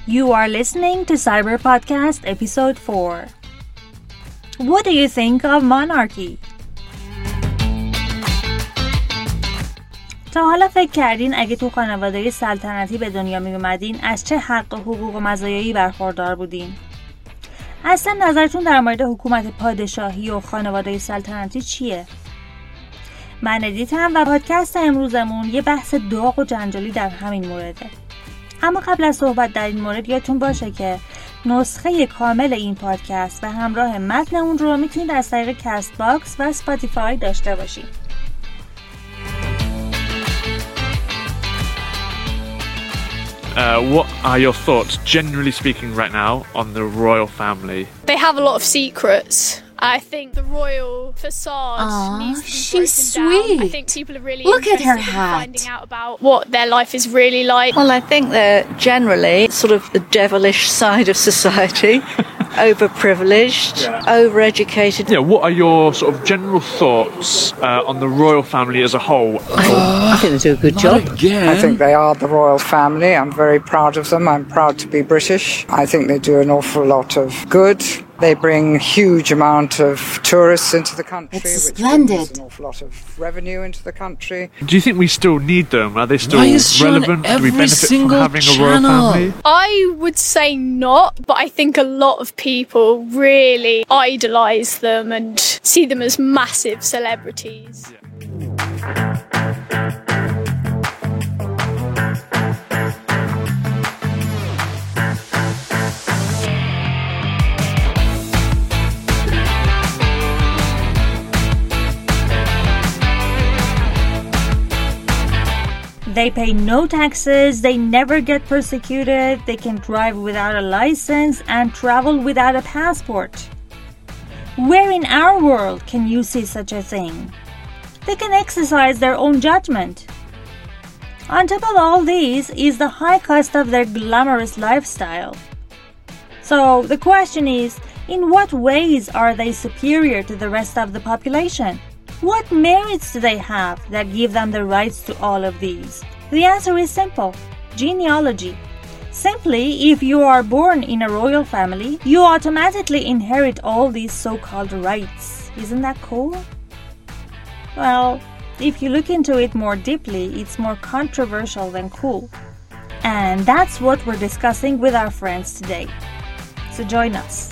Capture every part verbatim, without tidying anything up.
You are listening to Cyber Podcast Episode four. What do you think of monarchy? تا حالا فکر کردین اگه تو خانواده سلطنتی به دنیا می اومدین از چه حق و حقوق و مزایایی برخوردار بودین؟ اصلا نظرتون در مورد حکومت پادشاهی و خانواده سلطنتی چیه؟ من ادیتم و پادکست امروزمون یه بحث داغ و جنجالی در همین مورده. اما قبل از صحبت در این مورد یادتون باشه که نسخه کامل این پادکست و همراه متن اون رو میتونید از طریق کست باکس و اسپاتیفای داشته باشید. Uh, what are your thoughts, generally speaking, right now on the royal family? They have a lot of secrets. I think the royal facade Aww, needs to be she's broken down. sweet. I think people are really Look at interested her in hat. finding out about what their life is really like. Well, I think they're generally sort of the devilish side of society. Overprivileged, yeah. Overeducated. Yeah, what are your sort of general thoughts uh, on the royal family as a whole? Oh, I think they do a good job. Again. I think they are the royal family. I'm very proud of them. I'm proud to be British. I think they do an awful lot of good. They bring huge amount of tourists into the country, it's which splendid. brings an awful lot of revenue into the country. Do you think we still need them? Are they still Why is she on relevant? every Do we benefit from single having a royal channel? family? I would say not, but I think a lot of people really idolise them and see them as massive celebrities. Yeah. They pay no taxes, they never get persecuted, they can drive without a license and travel without a passport. Where in our world can you see such a thing? They can exercise their own judgment. On top of all these is the high cost of their glamorous lifestyle. So the question is, in what ways are they superior to the rest of the population? What merits do they have that give them the rights to all of these? The answer is simple: genealogy. Simply, if you are born in a royal family, you automatically inherit all these so-called rights. Isn't that cool? Well, if you look into it more deeply, it's more controversial than cool. And that's what we're discussing with our friends today. So join us.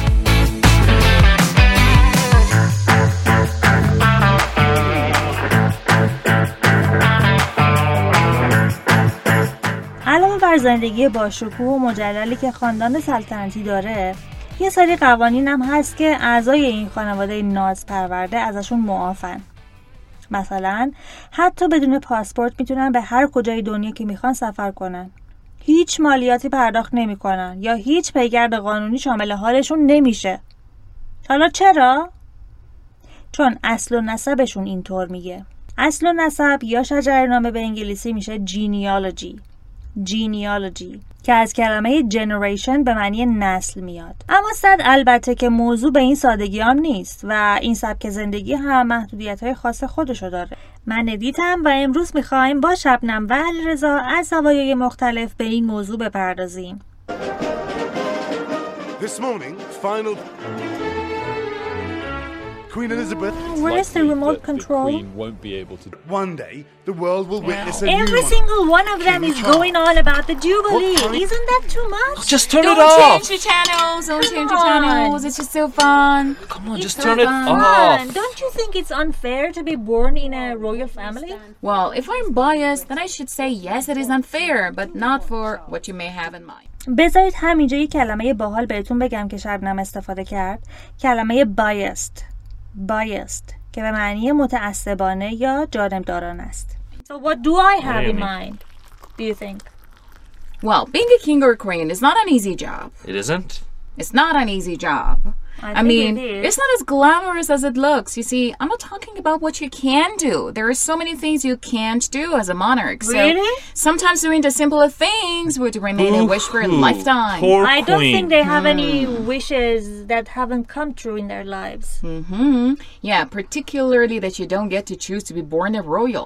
علاوه بر زندگی باشکوه و مجللی که خاندان سلطنتی داره، یه سری قوانین هم هست که اعضای این خانواده ناز پرورده ازشون معافن. مثلا حتی بدون پاسپورت میتونن به هر کجای دنیا که میخوان سفر کنن. هیچ مالیاتی پرداخت نمیکنن یا هیچ پیگرد قانونی شامل حالشون نمیشه. حالا چرا؟ چون اصل و نسبشون اینطور میگه. اصل و نسب یا شجره‌نامه به انگلیسی میشه genealogy. genealogy که از کلمه generation به معنی نسل میاد. اما صد البته که موضوع به این سادگی هم نیست و این سبک زندگی هم محدودیت‌های خاص خودشو داره. من ادیتم و امروز میخوایم با شبنم و علیرضا از زوایای مختلف به این موضوع بپردازیم. This morning, final Queen Elizabeth. Where is the remote control? The Queen won't be able to. One day, the world will witness a Every new single one of them King is Charles. going on about the Jubilee. What kind- Isn't that too much? Just turn Don't it off. change the channels. Don't Come change the on. channels. It's just so fun. Come on, It's just so turn it fun. off. Don't you think it's unfair to be born in a royal family? Well, if I'm biased, then I should say yes, it is unfair, but not for what you may have in mind. بذارید همینجا یه کلمه باحال بهتون بگم که شبنم استفاده کرد. کلمه biased. biased که به معنی متعصبانه یا جانبدارانه است. So what do I have in mind? Do you think? Well, being a king or queen is not an easy job. It isn't? It's not an easy job. I, I think mean, it is. it's not as glamorous as it looks. You see, I'm not talking about what you can do. There are so many things you can't do as a monarch. Really? So sometimes doing the simpler things would remain a wish for a Boo-hoo. lifetime. Poor I don't queen. think they have any wishes that haven't come true in their lives. Mm-hmm. Yeah, particularly that you don't get to choose to be born a royal.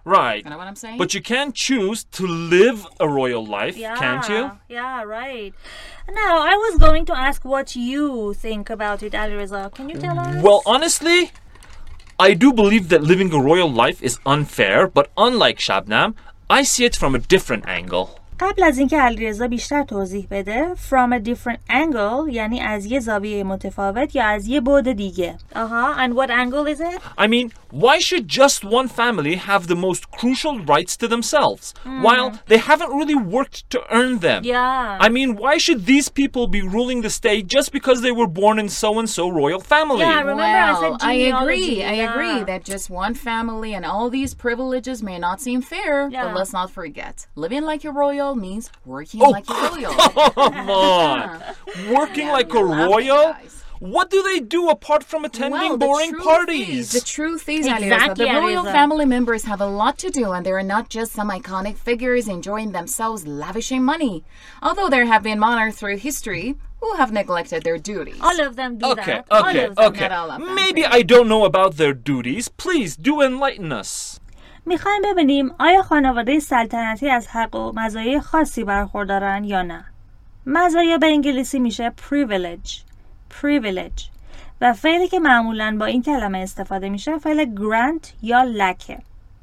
Right. You know what I'm saying? But you can choose to live a royal life, Yeah, can't you? Yeah, right. Now, I was going to ask what you think about it, Alireza. Can you tell us? Well, honestly, I do believe that living a royal life is unfair, but unlike Shabnam, I see it from a different angle. قبل از اینکه علیرضا بیشتر توضیح بده from a different angle یعنی از یه زاویه متفاوت یا از یه بعد دیگه. آها, and what angle is it? I mean, why should just one family have the most crucial rights to themselves Mm. while they haven't really worked to earn them? Yeah. I mean, why should these people be ruling the state just because they were born in so-and-so royal family? Yeah, remember I well, said I genealogy. agree. I Yeah. agree that just one family and all these privileges may not seem fair, Yeah. but let's not forget, living like a royal means working Oh, like a royal. come on! Working Yeah, like we a love it, royal? guys. What do they do apart from attending Well, the boring truth parties? Is, the truth is, Exactly, Alireza, the royal Alireza. family members have a lot to do, and they're not just some iconic figures enjoying themselves lavishing money. Although there have been monarchs through history who have neglected their duties. All of them do Okay, that. okay, all of them. okay. Not all of them. Maybe I don't know about their duties. Please do enlighten us. میخوایم ببینیم آیا خانواده سلطنتی از حق و مزایای خاصی برخوردارن یا نه. مزایا به انگلیسی میشه privilege. privilege. و فعلی که معمولاً با این کلمه استفاده میشه فعل grant یا لکه.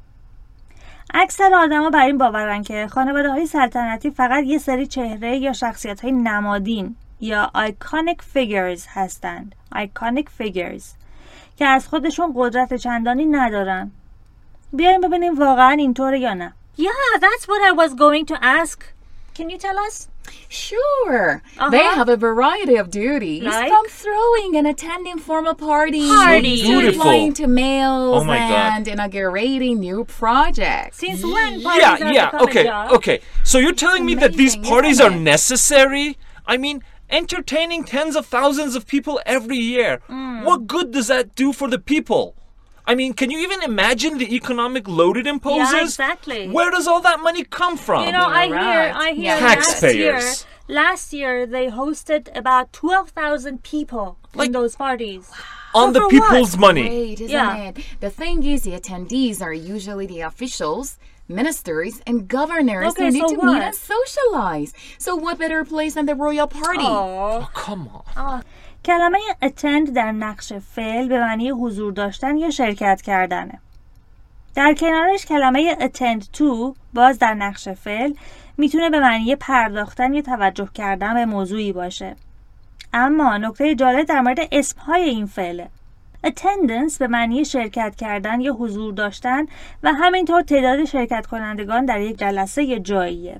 اکثر آدما بر این باورن که خانواده های سلطنتی فقط یه سری چهره یا شخصیت های نمادین یا iconic figures هستند. iconic figures که از خودشون قدرت چندانی ندارن. بیایم ببینیم واقعا اینطوره یا نه. Yeah, that's what I was going to ask. Can you tell us? Sure. Uh-huh. They have a variety of duties, Like? from throwing and attending formal parties, Parties. to Beautiful. replying to mails, Oh my God. and inaugurating new projects. Since when parties Yeah, are yeah, become okay, a job? okay. So you're telling me that these amazing, parties isn't are it? necessary? I mean, entertaining tens of thousands of people every year. What good does that do for the people? I mean, can you even imagine the economic load it imposes? Yeah, exactly. Where does all that money come from? You know, I You're hear, right. I hear Yeah. last year, Taxpayers. last year they hosted about twelve thousand people Like- in those parties. On So the for people's what? money. Great, isn't Yeah. it? The thing is, the attendees are usually the officials, ministers, and governors Okay, who need so to meet what? and socialize. So what better place than the royal party? Oh. Oh, come on. کلمه attend در نقش فعل به معنی حضور داشتن یا شرکت کردنه. در کنارش کلمه attend to باز در نقش فعل میتونه به معنی پرداختن یا توجه کردن به موضوعی باشه. اما نکته جالب در مورد اسمهای این فعله. attendance به معنی شرکت کردن یا حضور داشتن و همینطور تعداد شرکت کنندگان در یک جلسه یا جاییه.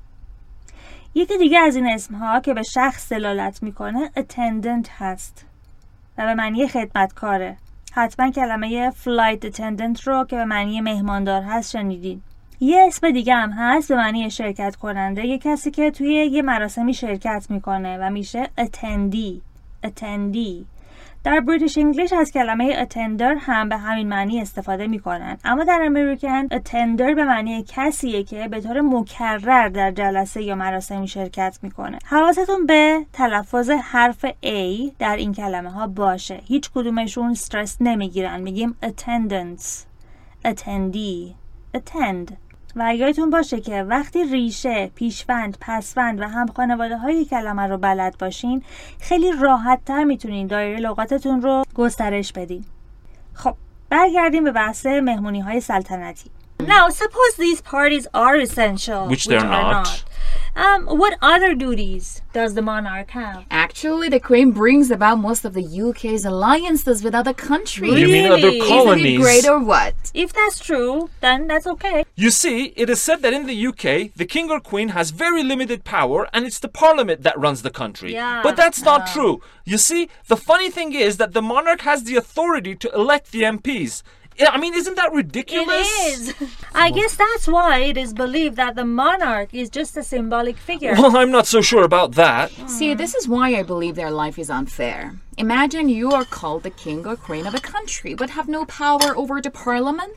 یکی دیگه از این اسمها که به شخص دلالت میکنه attendant هست و به معنی خدمتکاره. حتما کلمه flight attendant رو که به معنی مهماندار هست شنیدین. یه اسم دیگه هم هست به معنی شرکت کننده، یه کسی که توی یه مراسمی شرکت میکنه و میشه attendee. attendee. در بریتیش انگلیش از کلمه attender هم به همین معنی استفاده میکنن، اما در امریکن attender به معنی کسیه که به طور مکرر در جلسه یا مراسمی شرکت میکنه. حواستون به تلفظ حرف A در این کلمه ها باشه. هیچ کدومشون استرس نمیگیرن. میگیم attendance، attendee، attend. و یادتون باشه که وقتی ریشه، پیشوند، پسوند و هم خانواده های کلمه رو بلد باشین خیلی راحت تر میتونین دایره لغاتتون رو گسترش بدین. خب برگردیم به بحث مهمونی های سلطنتی. Now suppose these parties are essential, Which they're are not. Um, what other duties does the monarch have? Actually, the Queen brings about most of the U K's alliances with other countries. You mean other Really? Isn't colonies? it great or what? If that's true, then that's okay. You see, it is said that in the U K, the king or queen has very limited power and it's the parliament that runs the country. Yeah. But that's not true. You see, the funny thing is that the monarch has the authority to elect the M Ps. I mean, isn't that ridiculous? It is. I guess that's why it is believed that the monarch is just a symbolic figure. Well, I'm not so sure about that. See, this is why I believe their life is unfair. Imagine you are called the king or queen of a country, but have no power over the parliament.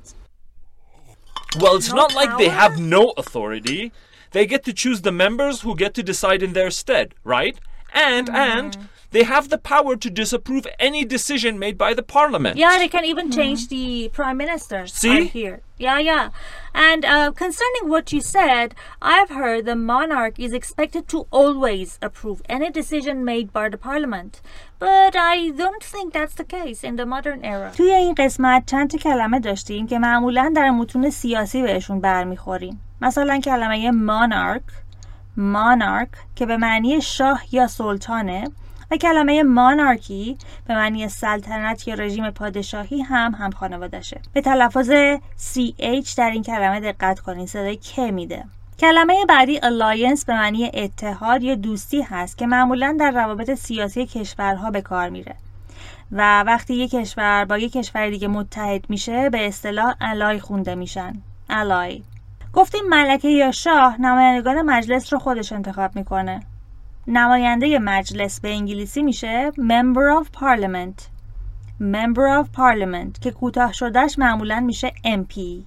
Well, it's No not like they power? have no authority. They get to choose the members who get to decide in their stead, right? And and they have the power to disapprove any decision made by the parliament. Yeah, they can even change the prime minister. See? I hear. Yeah, yeah. And uh, concerning what you said, I've heard the monarch is expected to always approve any decision made by the parliament. But I don't think that's the case in the modern era. توی این قسمت چند تا کلمه داشتیم که معمولاً در متون سیاسی بهشون برمیخوریم. مثلا کلمه monarch، monarch که به معنی شاه یا سلطانه و کلمه مانارکی به معنی سلطنت یا رژیم پادشاهی هم هم خانوادشه. به تلفظ سی اچ در این کلمه دقت کنین، صدای که میده. کلمه بعدی alliance به معنی اتحاد یا دوستی هست که معمولا در روابط سیاسی کشورها به کار میره و وقتی یک کشور با یک کشور دیگه متحد میشه به اصطلاح ally خونده میشن. ally. گفتیم ملکه یا شاه نمایندگان مجلس رو خودش انتخاب میکنه. نماینده مجلس به انگلیسی میشه member of parliament. member of parliament که کوتاه شدهش معمولا میشه ام پی.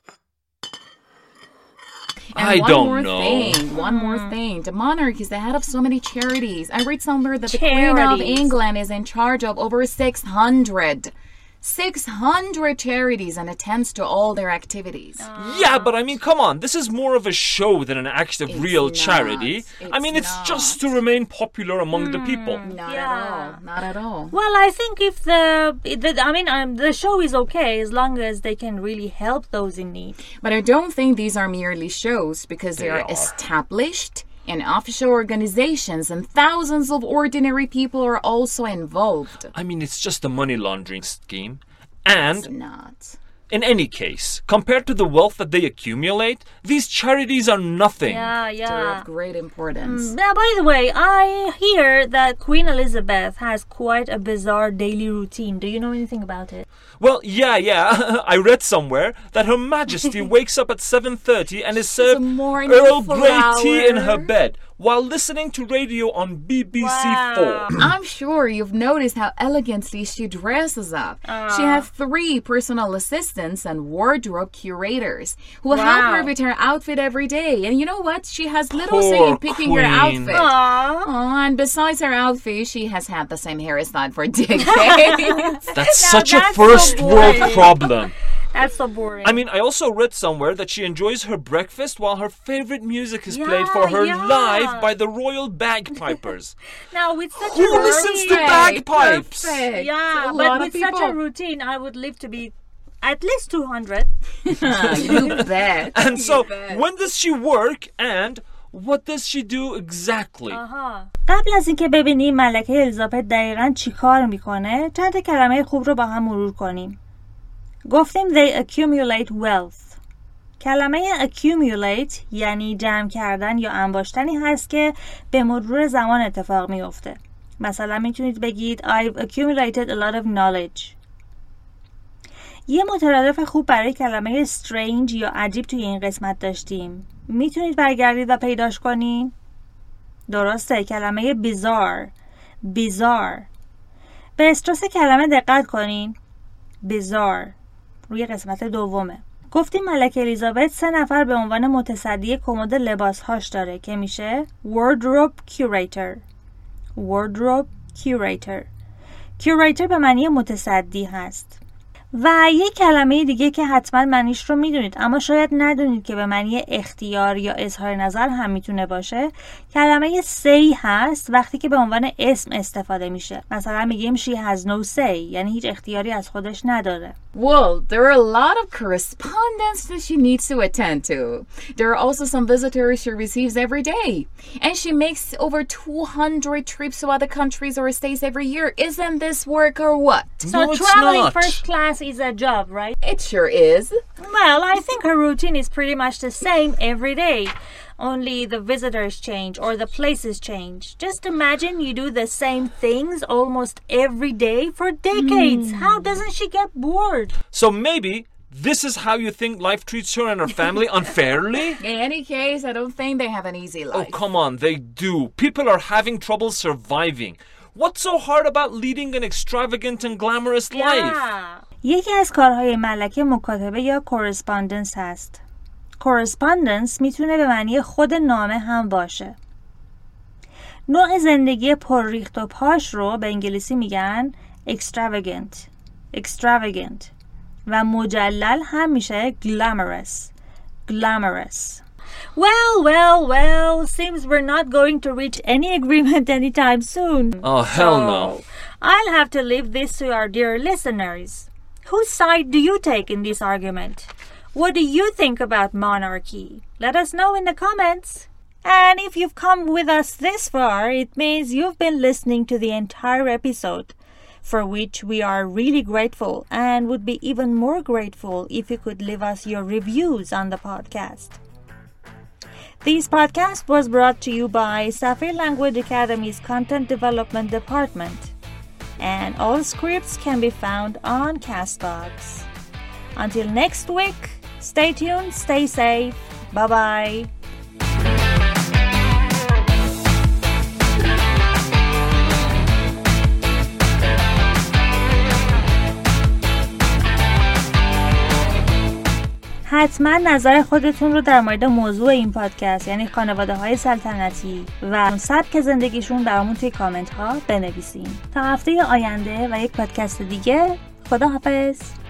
And I one don't more know. thing, one more thing. The monarch is the head of so many charities. I read somewhere that the Queen of Charities. England is in charge of over six hundred. six hundred charities and attends to all their activities. Yeah, but I mean, come on. This is more of a show than an act of It's real not. charity. I mean, it's It's just not. to remain popular among the people. Not Yeah. at all. Not at all. Well, I think if the, the I mean, um, the show is okay as long as they can really help those in need. But I don't think these are merely shows because they, They are, are. established and official organizations and thousands of ordinary people are also involved. I mean, it's just a money laundering scheme. And It's not. in any case, compared to the wealth that they accumulate, these charities are nothing. Yeah, They're yeah. of great importance. Now, by the way, I hear that Queen Elizabeth has quite a bizarre daily routine. Do you know anything about it? Well, yeah, yeah. I read somewhere that Her Majesty wakes up at seven thirty and is served a morning Earl Grey flower. tea in her bed while listening to radio on B B C four. I'm sure you've noticed how elegantly she dresses up. She has three personal assistants and wardrobe curators who help Wow. her with her outfit every day. And you know what? She has little Poor say in picking her queen. outfit. Aww. Oh, and besides her outfit, she has had the same hairstyle for decades. That's Now such a that's so first world boring. problem. That's so boring. I mean, I also read somewhere that she enjoys her breakfast while her favorite music is played for Yeah, her yeah. live by the Royal Bagpipers. now, with such Who a listens routine, to bagpipes? Perfect. yeah, A but lot with of such a people. routine, I would live to be at least two hundred. You bet. And You so, bet. when does she work and what does she do exactly? آها. قبل از اینکه ببینیم ملکه الیزابت دقیقاً چی کار میکنه، چند تا کلمه خوب رو با هم مرور کنیم. گفتیم they accumulate wealth. کلمه accumulate یعنی جمع کردن یا انباشتنی هست که به مرور زمان اتفاق میفته. مثلا میتونید بگید I've accumulated a lot of knowledge. یه مترادف خوب برای کلمه strange یا عجیب توی این قسمت داشتیم. میتونید برگردید و پیداش کنین؟ درسته، کلمه bizarre. bizarre. به استرس کلمه دقت کنین. bizarre. روی قسمت دومه. گفتیم ملکه الیزابت سه نفر به عنوان متصدی کمد لباسهاش داره که میشه wardrobe curator. wardrobe curator. curator به معنی متصدی هست. و یک کلمه دیگه که حتما معنیش رو میدونید اما شاید ندونید که به معنی اختیار یا اظهار نظر هم میتونه باشه، کلمه say هست وقتی که به عنوان اسم استفاده میشه. مثلا میگیم she has no say یعنی هیچ اختیاری از خودش نداره. Well, there are a lot of correspondence that she needs to attend to. There are also some visitors she receives every day. And she makes over two hundred trips to other countries or states every year. Isn't this work or what? So No, it's traveling not. first class is a job, right? It sure is. Well, I think her routine is pretty much the same every day. Only the visitors change or the places change. Just imagine you do the same things almost every day for decades. How doesn't she get bored? So maybe this is how you think life treats her and her family unfairly? In any case, I don't think they have an easy life. Oh, come on, they do. People are having trouble surviving. What's so hard about leading an extravagant and glamorous life? Yeah. یکی از کارهای ملکه مکاتبه یا correspondence هست. correspondence میتونه به معنی خود نامه هم باشه. نوع زندگی پر ریخت و پاش رو به انگلیسی میگن extravagant extravagant و مجلل هم میشه glamorous glamorous. Well, well, well, seems we're not going to reach any agreement anytime soon. Oh, hell so, no. I'll have to leave this to our dear listeners. Whose side do you take in this argument? What do you think about monarchy? Let us know in the comments. And if you've come with us this far, it means you've been listening to the entire episode, for which we are really grateful and would be even more grateful if you could leave us your reviews on the podcast. This podcast was brought to you by Safir Language Academy's Content Development Department, and all scripts can be found on Castbox. Until next week, stay tuned, stay safe, bye-bye. حتما نظر خودتون رو در مورد موضوع این پادکست یعنی خانواده های سلطنتی و سبک زندگیشون برامون توی کامنت ها بنویسین. تا هفته آینده و یک پادکست دیگه، خدا حافظ.